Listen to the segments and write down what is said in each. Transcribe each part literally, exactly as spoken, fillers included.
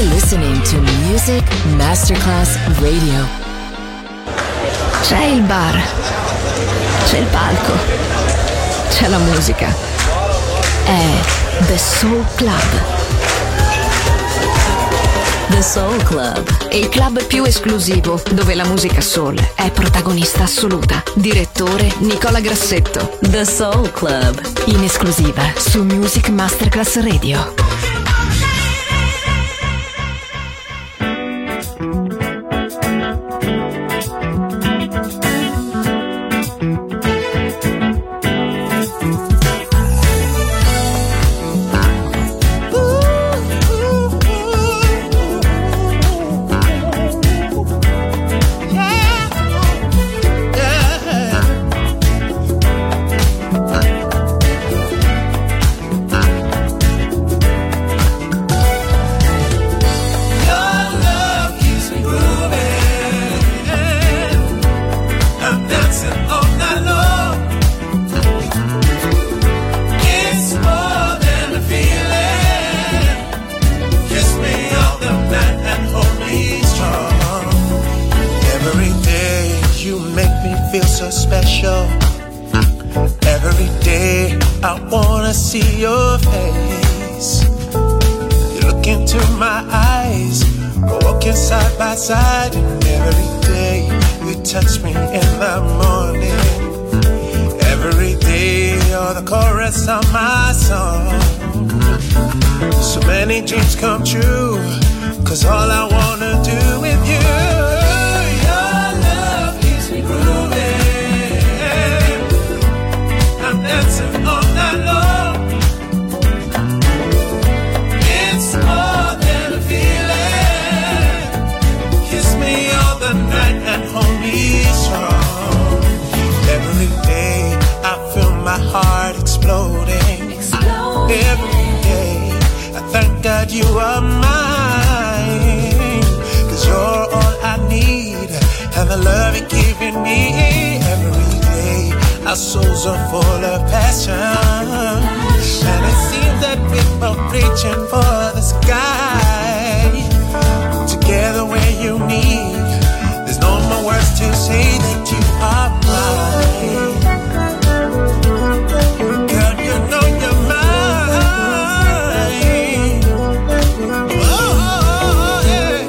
You're listening to Music Masterclass Radio. C'è il bar, c'è il palco, c'è la musica. È The Soul Club. The Soul Club, Il club più esclusivo dove la musica soul è protagonista assoluta. Direttore Nicola Grassetto. The Soul Club, In esclusiva su Music Masterclass Radio. Side, and every day you touch me in the morning. Every day you're the chorus of my song. So many dreams come true, 'cause all I wanna do with you, your love keeps me grooving. I'm dancing all night long. It's more than a feeling. Night and hold me strong. Every day I feel my heart exploding. Exploding. Every day I thank God you are mine, 'cause you're all I need, and the love you're giving me. Every day our souls are full of passion, and it seems that we're both reaching for the sky. Together where you need, there's no more words to say that you are mine. Girl, you know you're mine. Oh, yeah,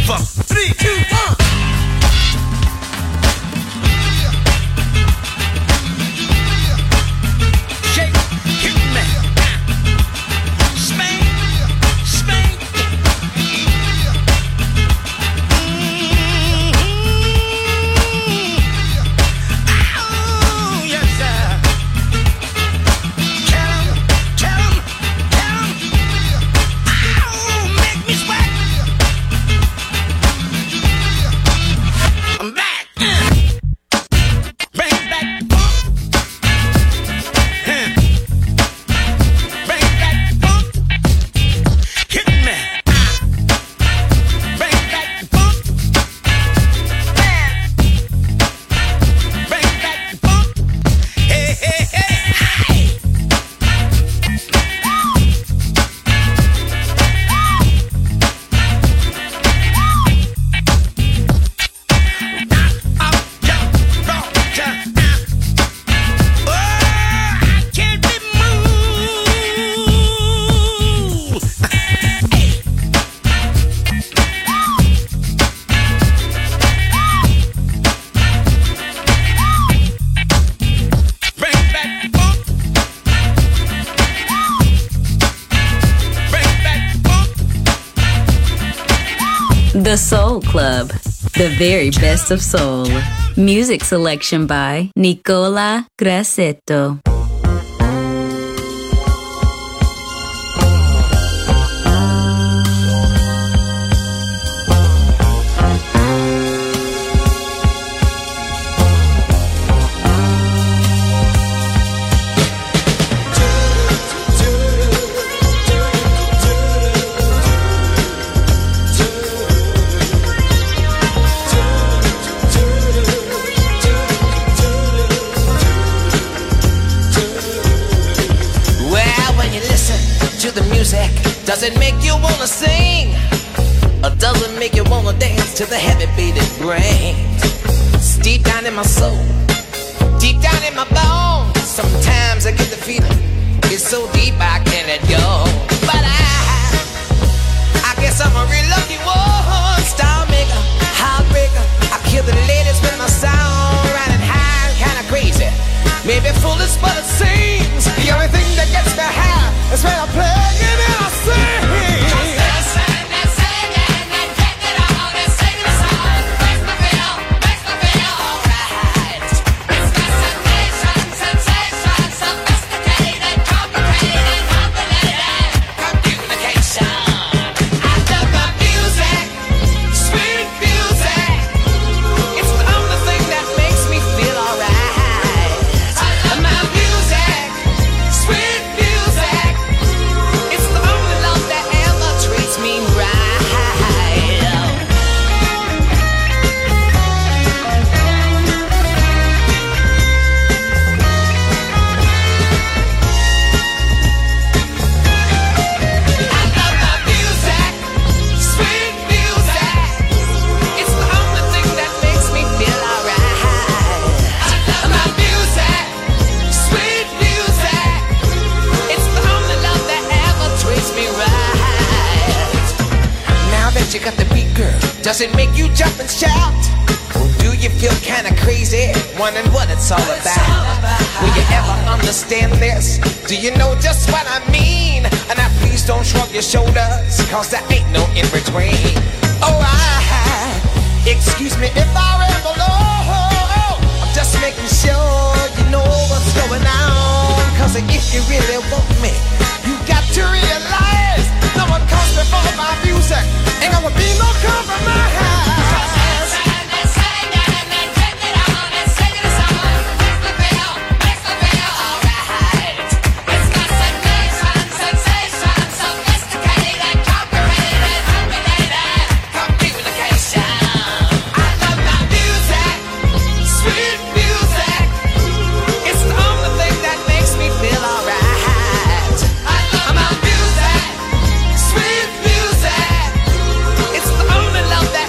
four, three, two, one. Shake, hit me. Spank, spank. Mm-hmm. Oh, yes, sir. Tell 'em, tell 'em, tell 'em. Oh, make me sweat. I'm back. Bring back funk. Huh. Bring back funk. Hit me. Bring back funk. Bring back funk. Hey, hey, hey, hey. Up, jump, rock, jump. Oh, I can't be moved. Hey. Bring back funk. Bring back funk. The Soul Club, the very best of soul. Music selection by Nicola Grassetto. Well, when you listen to the music, does it make you wanna sing? Or does it make you wanna dance to the heavy beat it brings? It's deep down in my soul, deep down in my bones. Sometimes I get the feeling, it's so deep I can't let go. But I, I guess I'm a real lucky one. Star maker, heartbreaker. I kill the ladies with my sound, riding high, kinda crazy. Maybe foolish, but it seems the only thing that gets me high is when I play it and I sing. You got the beat, girl. Does it make you jump and shout? Or do you feel kinda crazy, wondering what it's all about? Will you ever understand this? Do you know just what I mean? And now please don't shrug your shoulders, cause there ain't no in between. Oh, I, excuse me if I ramble on. I'm just making sure you know what's going on. Cause if you really want me, you got to realize no one comes before my music. Ain't gonna be no compromise. Love that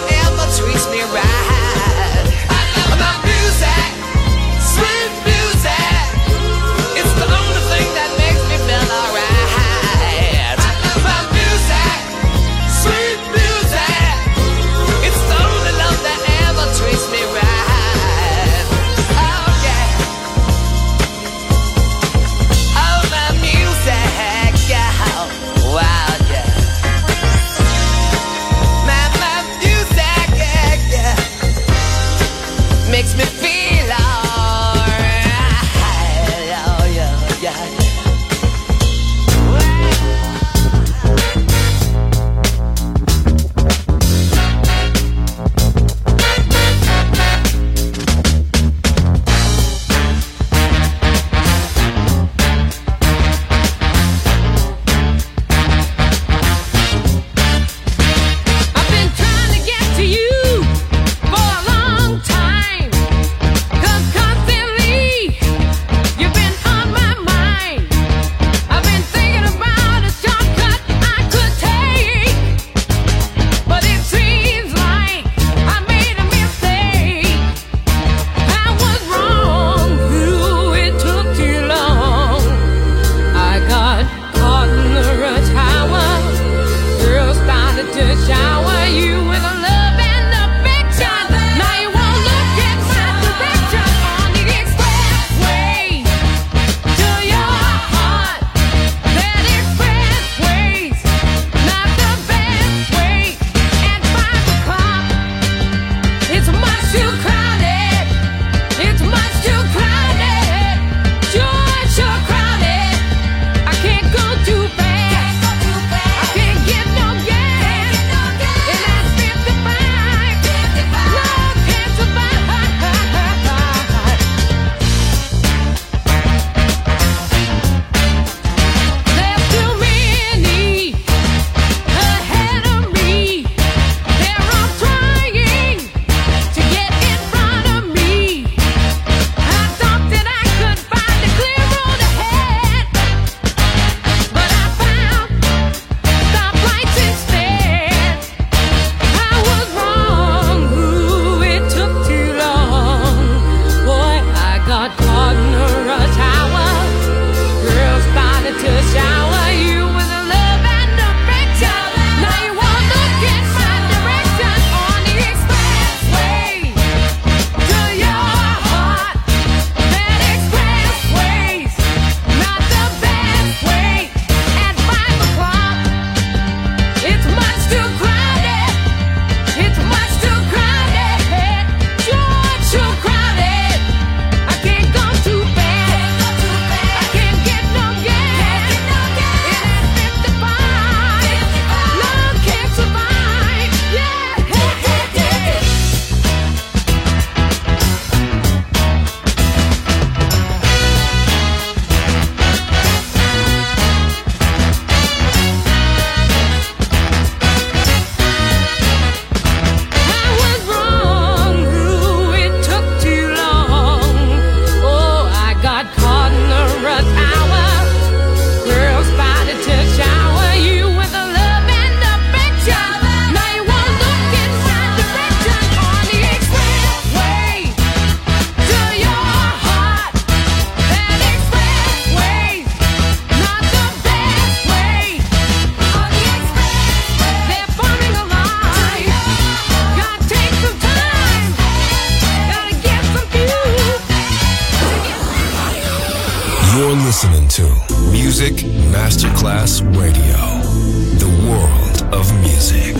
to Music Masterclass Radio, the world of music.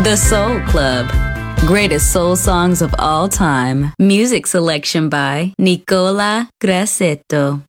The Soul Club. Greatest soul songs of all time. Music selection by Nicola Grassetto.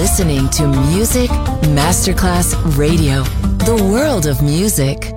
listening to Music Masterclass Radio, the world of music.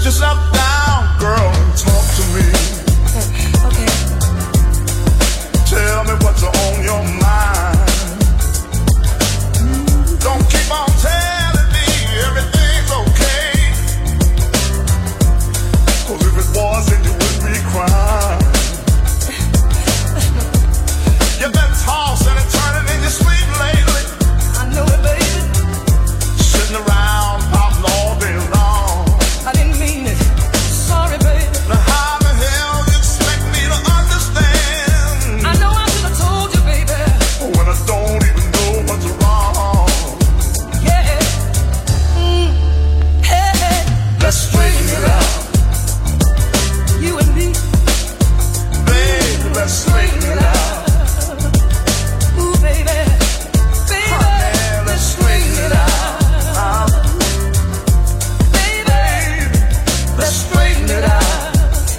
yourself down, girl, and talk to me. Okay. Tell me what's on your mind. Don't keep on telling me everything's okay. 'Cause if it wasn't, you wouldn't be crying. You've been tossing and turning in your sleep lately. I know it, baby. Sitting around pouting all day long. I didn't mean it. Sorry, baby. Now how the hell you expect me to understand? I know I should have told you, baby. When I don't even know what's wrong. Yeah. Mm. Hey, hey. Let's straighten it out. You and me. Baby, let's straighten it out. Ooh, baby. Baby, Man, let's straighten it out. baby. Let's straighten it out.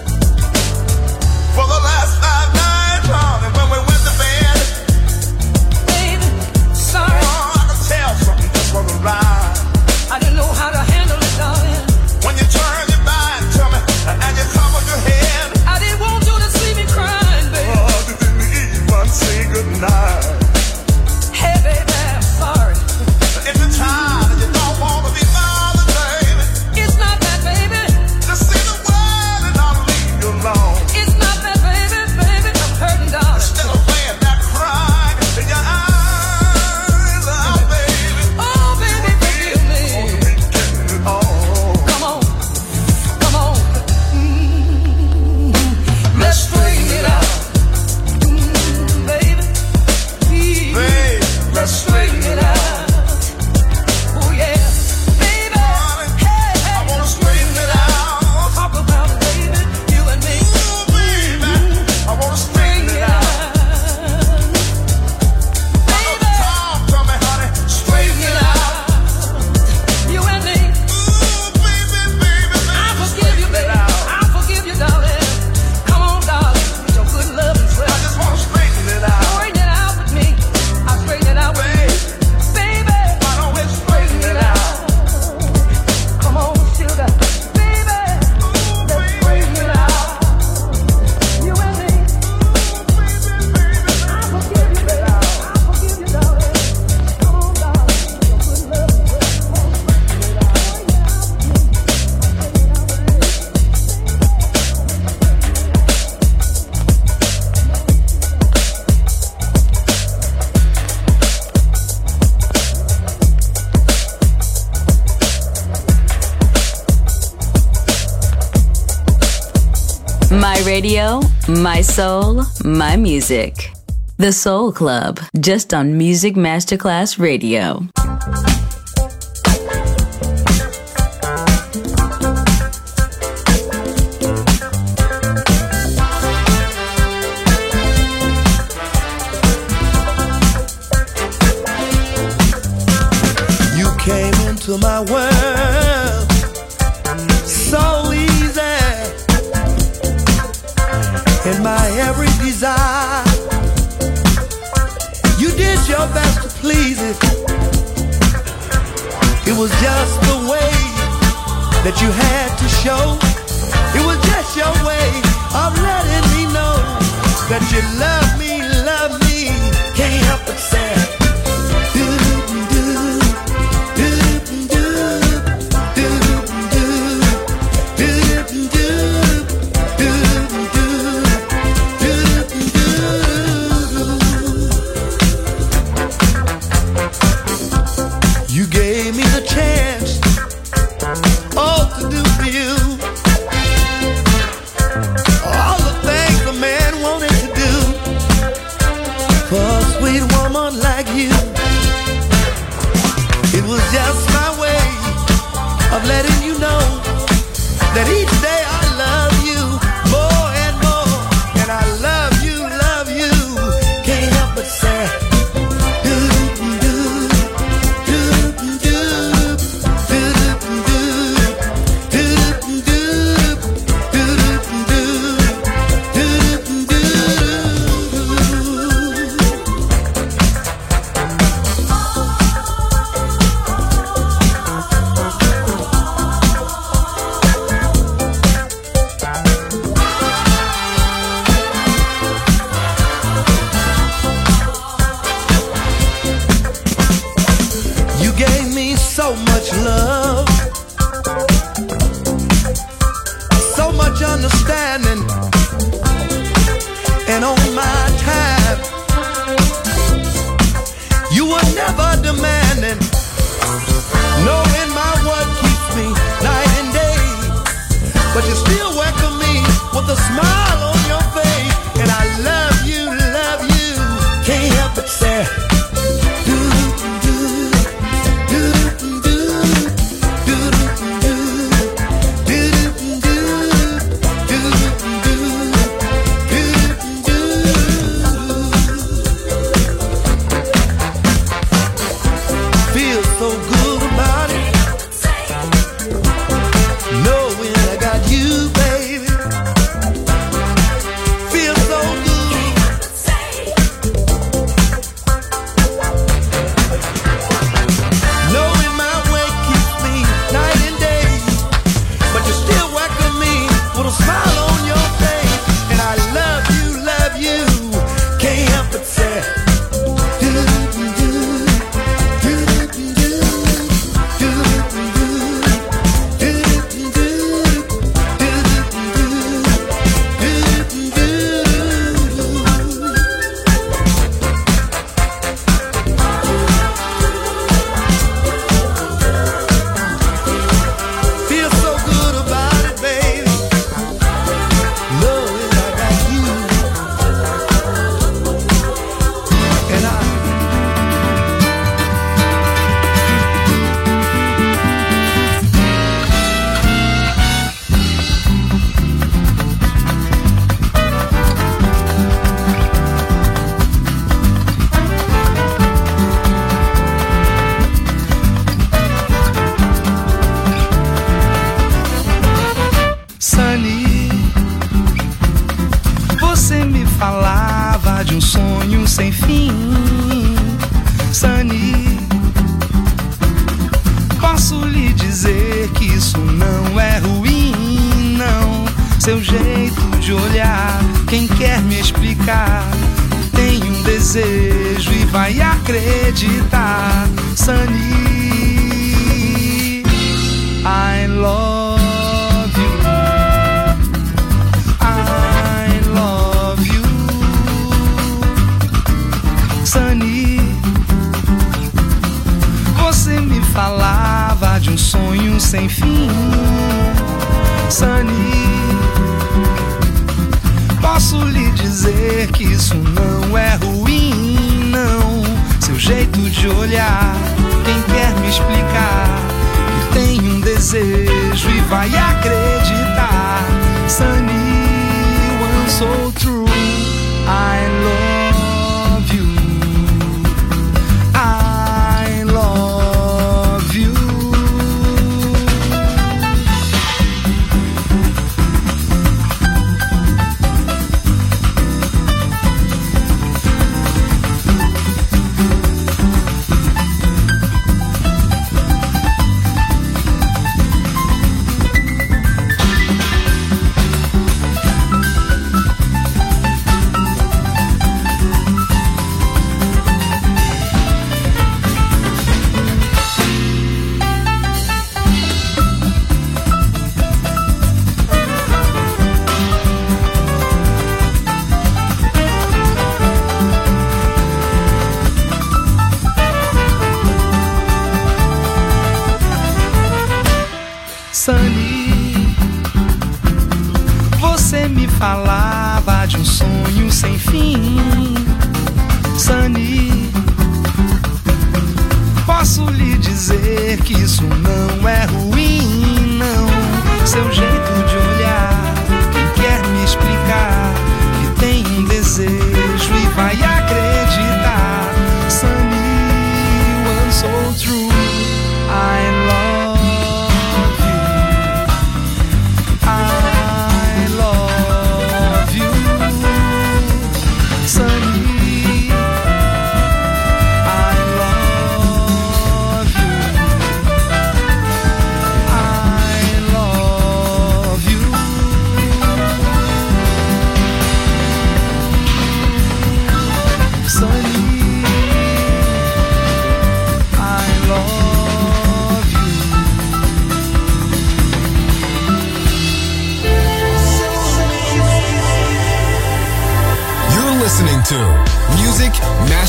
For the last five nights, honey, when we went to bed, Baby, sorry. oh, I could tell something just wasn't right. I didn't know how to handle it, darling. When you turn your back to me and you cover your head, I didn't want you to see me crying, baby. oh, you didn't even say goodnight. Hey, baby, I'm sorry. If you're tired and you don't want to be bothered, baby, It's not that, baby. just say the word and I'll leave you alone. It's not that, baby, baby. I'm hurting, darling. Instead of laying there crying in your eyes, oh, baby, Oh, baby, forgive me. won't you be getting it on? Come on, come on. Mm. Let's straighten it out, Mm, baby. Please. Babe, let's straighten it out. Oh yeah, baby. Hey, I hey. wanna straighten it out. Talk about it, baby. You and me. Ooh, baby, I wanna straighten it out. Baby, Talk to me, honey, straighten it out. you and me. Ooh, baby, baby, I baby, forgive you, straighten it baby. out. I forgive you, darling. Come on, darling. With your good love and I self. just wanna straighten it out. Straighten it out with me. I straighten it out with Babe, you. Baby. why don't we straighten it out? Come on, sugar. Baby. Let's straighten it out. You and me. I forgive you, baby. I forgive you, darling. Come on, darling. Your good love and self. Come on, straighten it out. My radio, my soul, my music. The Soul Club, just on Music Masterclass Radio. You came into my world so easy, in my every desire. You did your best to please it. It was just the way that you had to show. It was just your way of letting me know that you love me, love me. Can't help but say, you gave me the chance, oh, to do for you all the things a man wanted to do for a sweet woman like you. It was just my way of letting you know that each day I love you more and more, and I love you, love you. Can't help but say, so much love, so much understanding, and on my time, you were never demanding, knowing my what keeps me night and day, but you still welcome me with a smile on your face, and I love you, love you, can't help but say.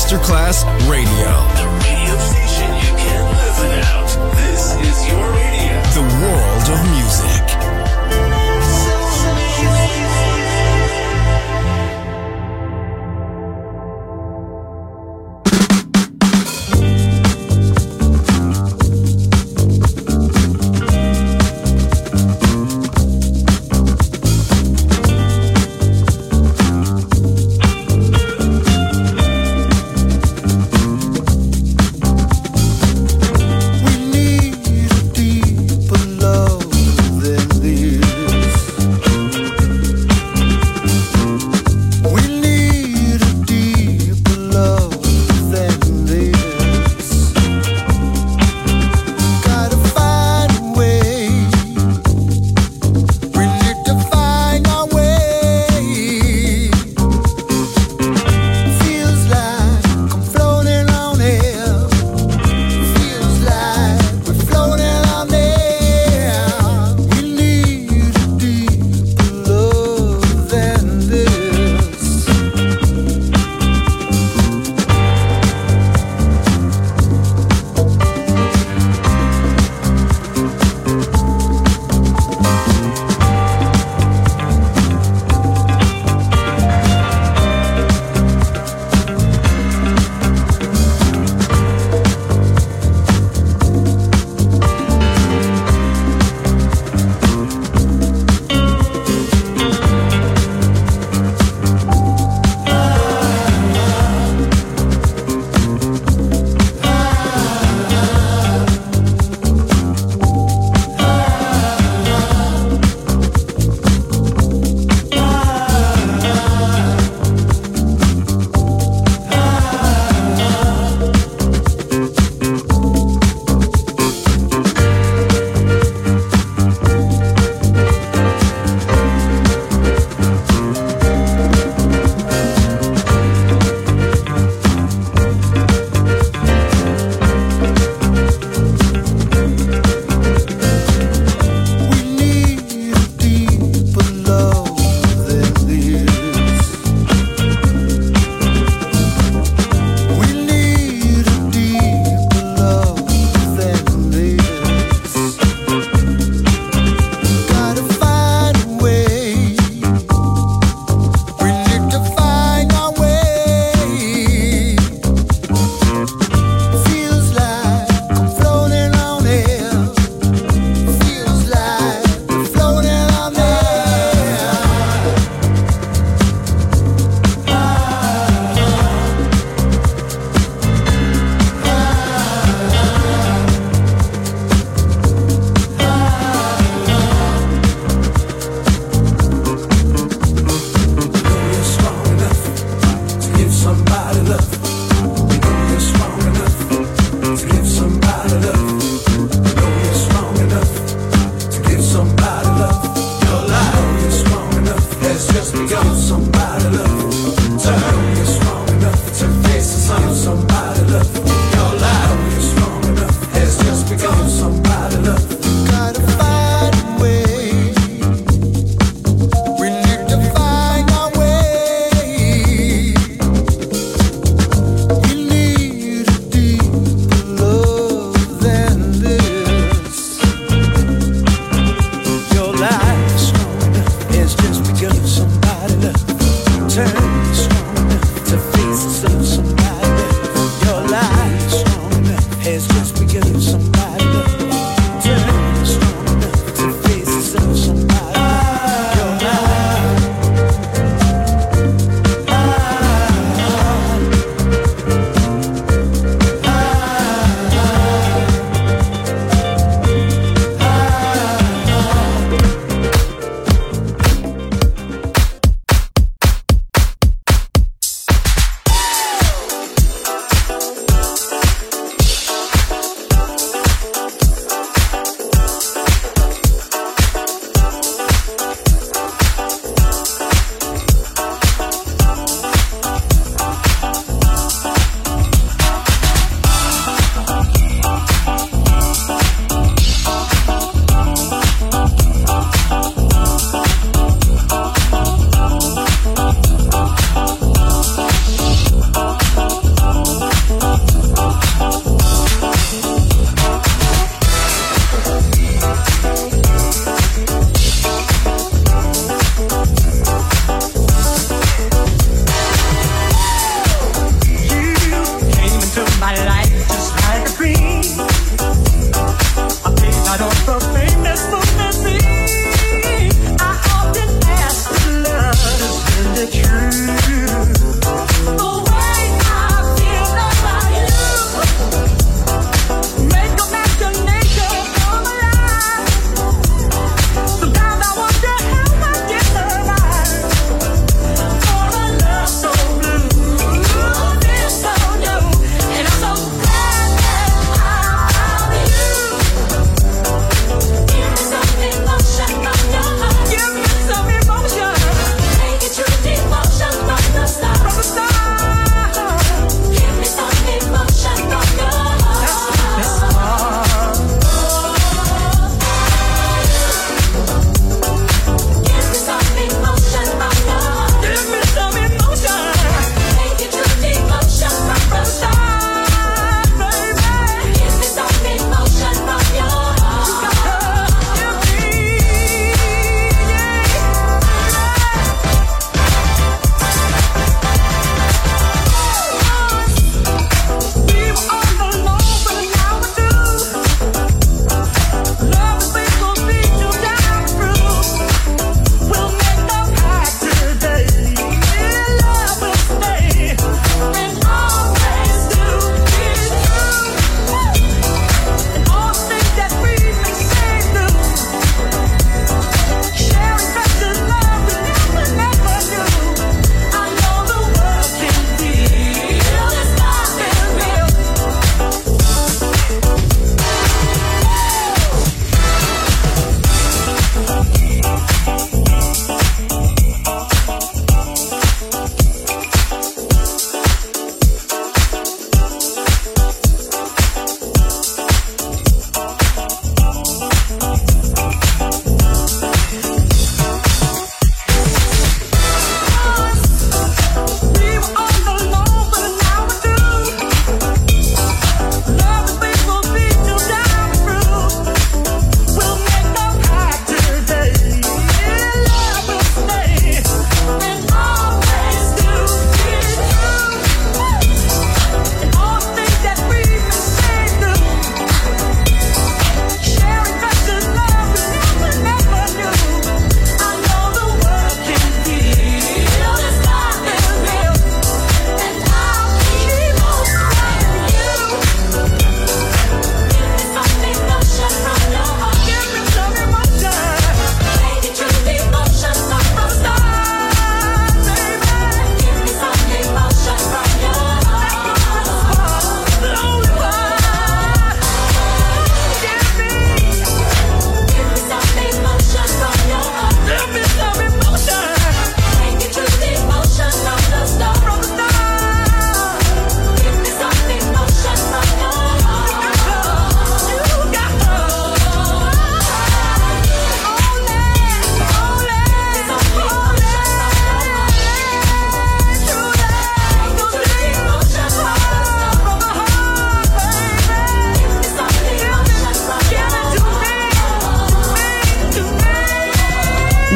Masterclass Radio. The radio station you can't live without. This is your radio. The world of music.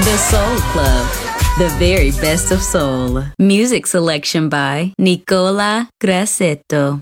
The Soul Club, the very best of soul. Music selection by Nicola Grassetto.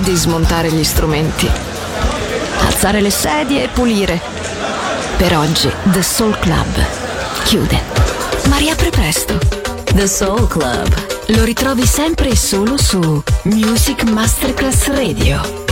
di smontare gli strumenti, alzare le sedie e pulire. Per oggi The Soul Club chiude, ma riapre presto. The Soul Club. Lo ritrovi sempre e solo su Music Masterclass Radio.